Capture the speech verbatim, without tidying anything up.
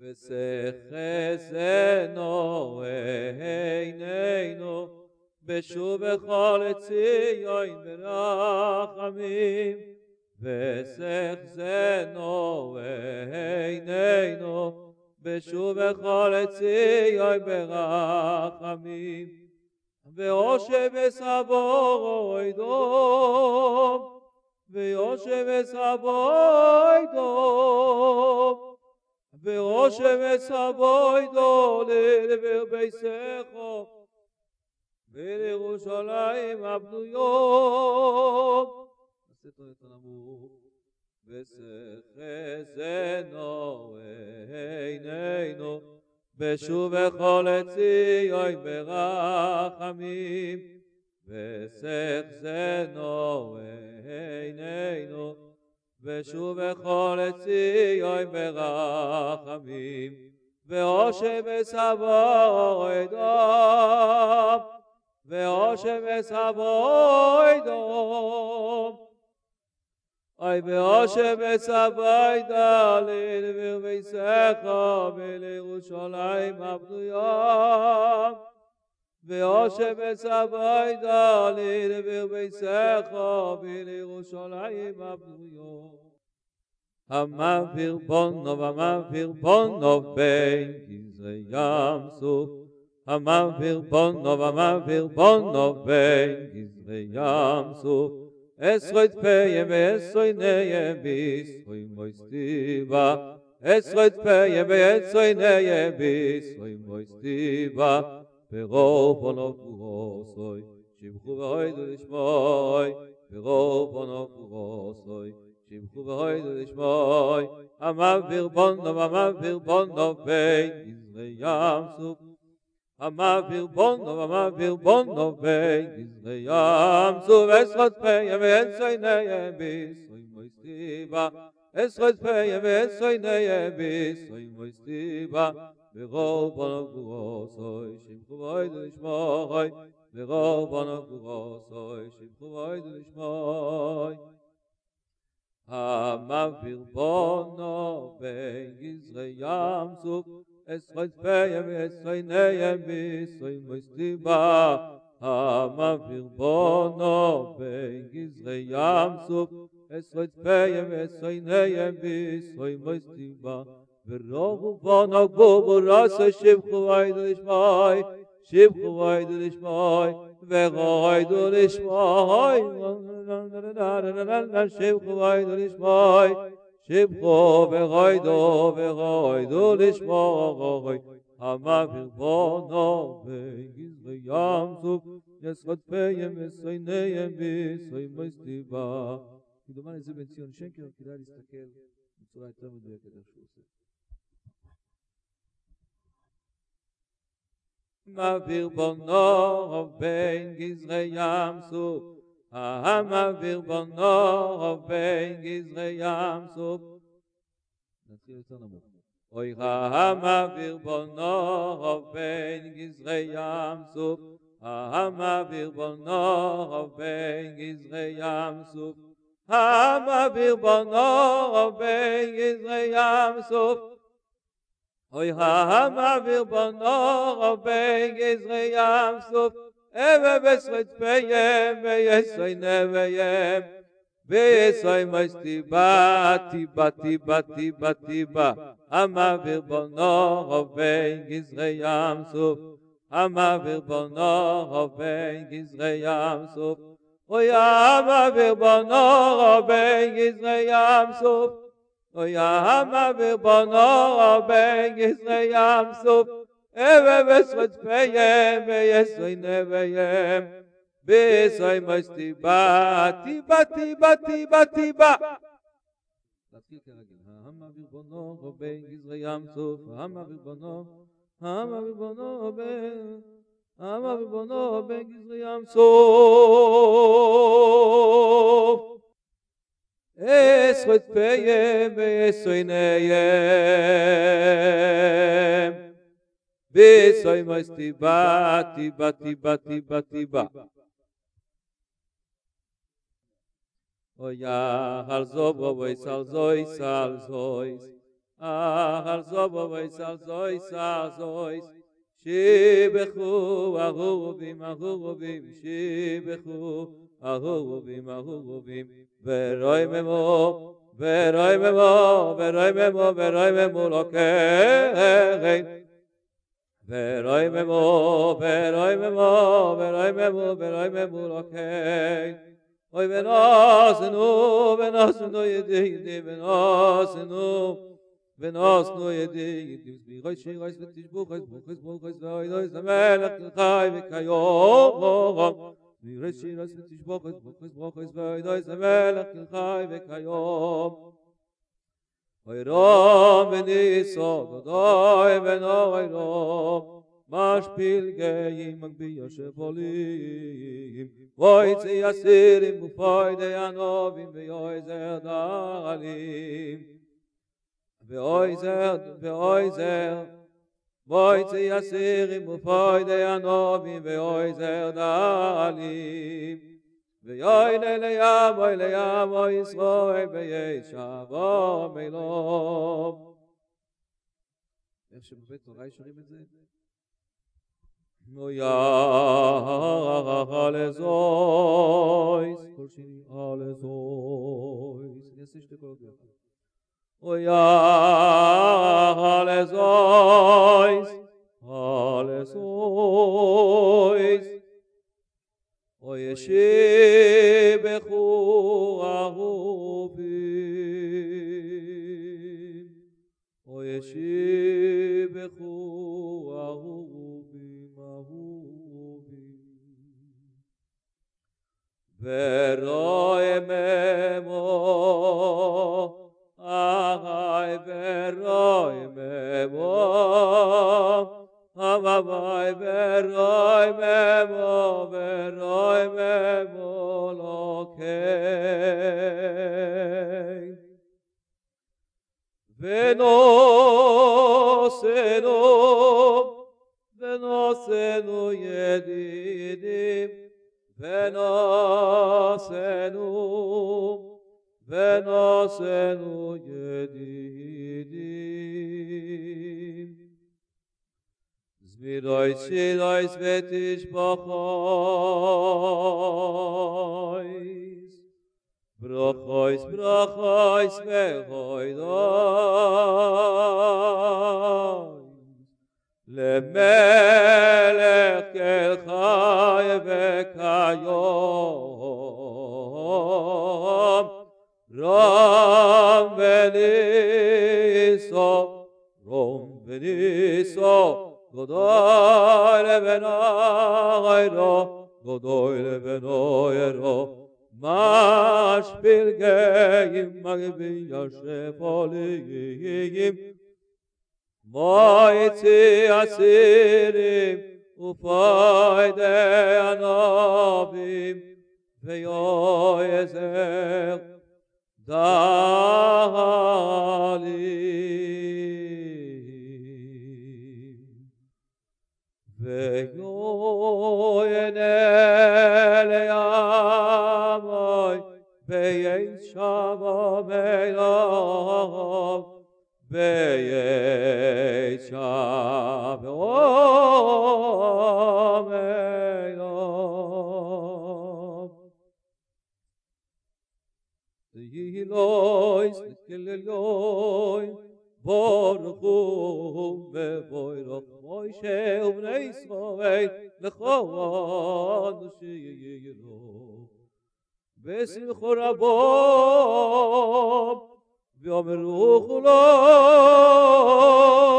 וסחזנו עינינו בשוב כל ציון ברחמים וסחזנו עינינו בשוב כל ציון ברחמים ויושב וסבוי דום ויושב וסבוי דום ויושב וסבוי דום לדבר ביסכו ולירושלים הבנויות וסחזנו עינינו בשוב כל ציון ברחמים וסחזנו עינינו בשוב כל ציון ברחמים ויושב וסבוי דום ויושב וסבוי דום אוי ויושב וסבוי דום לדבר ביסכו ולירושלים הבנויות ויושב וסבוי דום לדבר ביסכו ולירושלים הבנויות המעביר בונו המעביר בונו בין גזרי ים סוף המעביר בונו המעביר בונו בין גזרי ים סוף עשרות פיים ועשרות ניים בישרוי מויסטיבה עשרות פיים ועשרות ניים בישרוי מויסטיבה ברוב בונו ברוסוי שבחו והוידו לשמוי ברוב בונו ברוסוי שבחו והוידו לשמוי המעביר בונו המעביר בונו בין גזרי ים סוף המעביר בונו המעביר בונו בין גזרי ים סוף עשרות פיים ועשרות ניים בישרוי מויסטיבה עשרות פיים ועשרות ניים בישרוי מויסטיבה ברוב בונו ברוסוי שבחו והוידו לשמוי ברוב בונו ברוסוי שבחו והוידו לשמוי המעביר בונו בין גזרי ים סוף עשרות פיים ועשרות ניים בישרוי מויסטיבה המעביר בונו בין גזרי ים סוף עשרות פיים ועשרות ניים בישרוי מויסטיבה ברוב בונו ברוסוי שבחו והוידו לשמוי שבחו והוידו לשמוי והוידו לשמוי שבחו והוידו לשמוי שבחו והוידו והוידו לשמוי המעביר בונו בין גזרי ים סוף עשרות פיים ועשרות ניים בישרוי מויסטיבה כדומה לזה בן ציון שקר כדאי להסתכל בצורה יותר מדויקת איך שהוא עושה מעביר בונו בין גזרי ים סוף המעביר בונו בין גזרי ים סוף נתחיל יותר נמוך אוי המעביר בונו בין גזרי ים סוף המעביר בונו בין גזרי ים סוף המעביר בונו בין גזרי ים סוף אוי המעביר בונו בין גזרי ים סוף אבה בשרות פיים ויסוי נביים ויסוי מויסטיבה טיבה טיבה טיבה טיבה המעביר בונו בין גזרי ים סוף המעביר בונו בין גזרי ים סוף אוי המעביר בונו בין גזרי ים סוף אוי המעביר בונו בין גזרי ים סוף אבה בשרות פיים ויסוי נביים ויסוי מויסטיבה טיבה טיבה טיבה טיבה להתחיל כרגיל המעביר בונו בין גזרי ים סוף המעביר בונו המעביר בונו בין המעביר בונו בין גזרי ים סוף עשרות פיים ויסוי ניים ויסוי מויסטיבה טיבה טיבה טיבה טיבה אוי הר זוב ואוי סל זוי סל זוי אחר זובויס על זויס זויס שיבחו אהובים אהובים שיבחו אהובים אהובים ורוי ממו ורוי ממו ורוי ממו ורוי ממו לוקח ורוי ממו ורוי ממו ורוי ממו ורוי ממו לוקח אוי ונוסנו ונוסנו ידי ידי ונוסנו ונוסנו ידי ידי וסביחוי שירויס ותשבוכויס בוכויס בוכויס ואוידויס המלך כלחי וכיום וירש שירויס ותשבוכויס בוכויס בוכויס ואוידויס המלך כלחי וכיום אוי רום וניסו דודוי ונוי רום משפיל גאים מגביה שפולים ואויצי יסירים ופוידי הנובים ויועזר דלים ואויזר ואויזר ואויצי יסירים ופוידי הנובים ואויזר דלים ויועילה לים אוי לים אוי ישראל וישבו מילום איך שבבית תורה שרים את זה? נו יחלזויס כל שני הלזויס אני אעשה שתי קולות ביחד O ja, halezois, halezois, o yeshibechu ahuvim, o yeshibechu ahuvim, ahuvim, veroi memo, Ay veroi memo, ay veroi memo, veroi memo lokei. Venosenu, venosenu yedidim, venosenu. Venosenu yedidim Zmidois shidois vetish brochois Brochois, brochois vechoidois Lemelech kel chai vekayom Rom veniso, Rom veniso, Godoy levenoyro, Godoy levenoyro, Mashpil geim magbiya shepolim, Moitzi asirim, Ufoide anobim, Veyoyezer, Dalim Veyoyene leyamoy Veyeshavo meilov Veyeshavo meilov Yilois Keleloi Borchu Bevoirach Moshe Ubnei Israel Lechon Sheyilo Besimchu Rabom V'omeru Chulo